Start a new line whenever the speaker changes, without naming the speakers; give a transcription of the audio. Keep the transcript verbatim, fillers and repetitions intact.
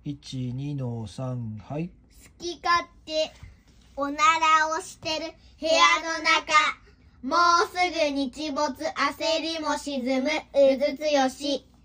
いち、にのさん、はい。
好き勝手おならをしてる部屋の中、もうすぐ日没、焦りも沈むうずつよし。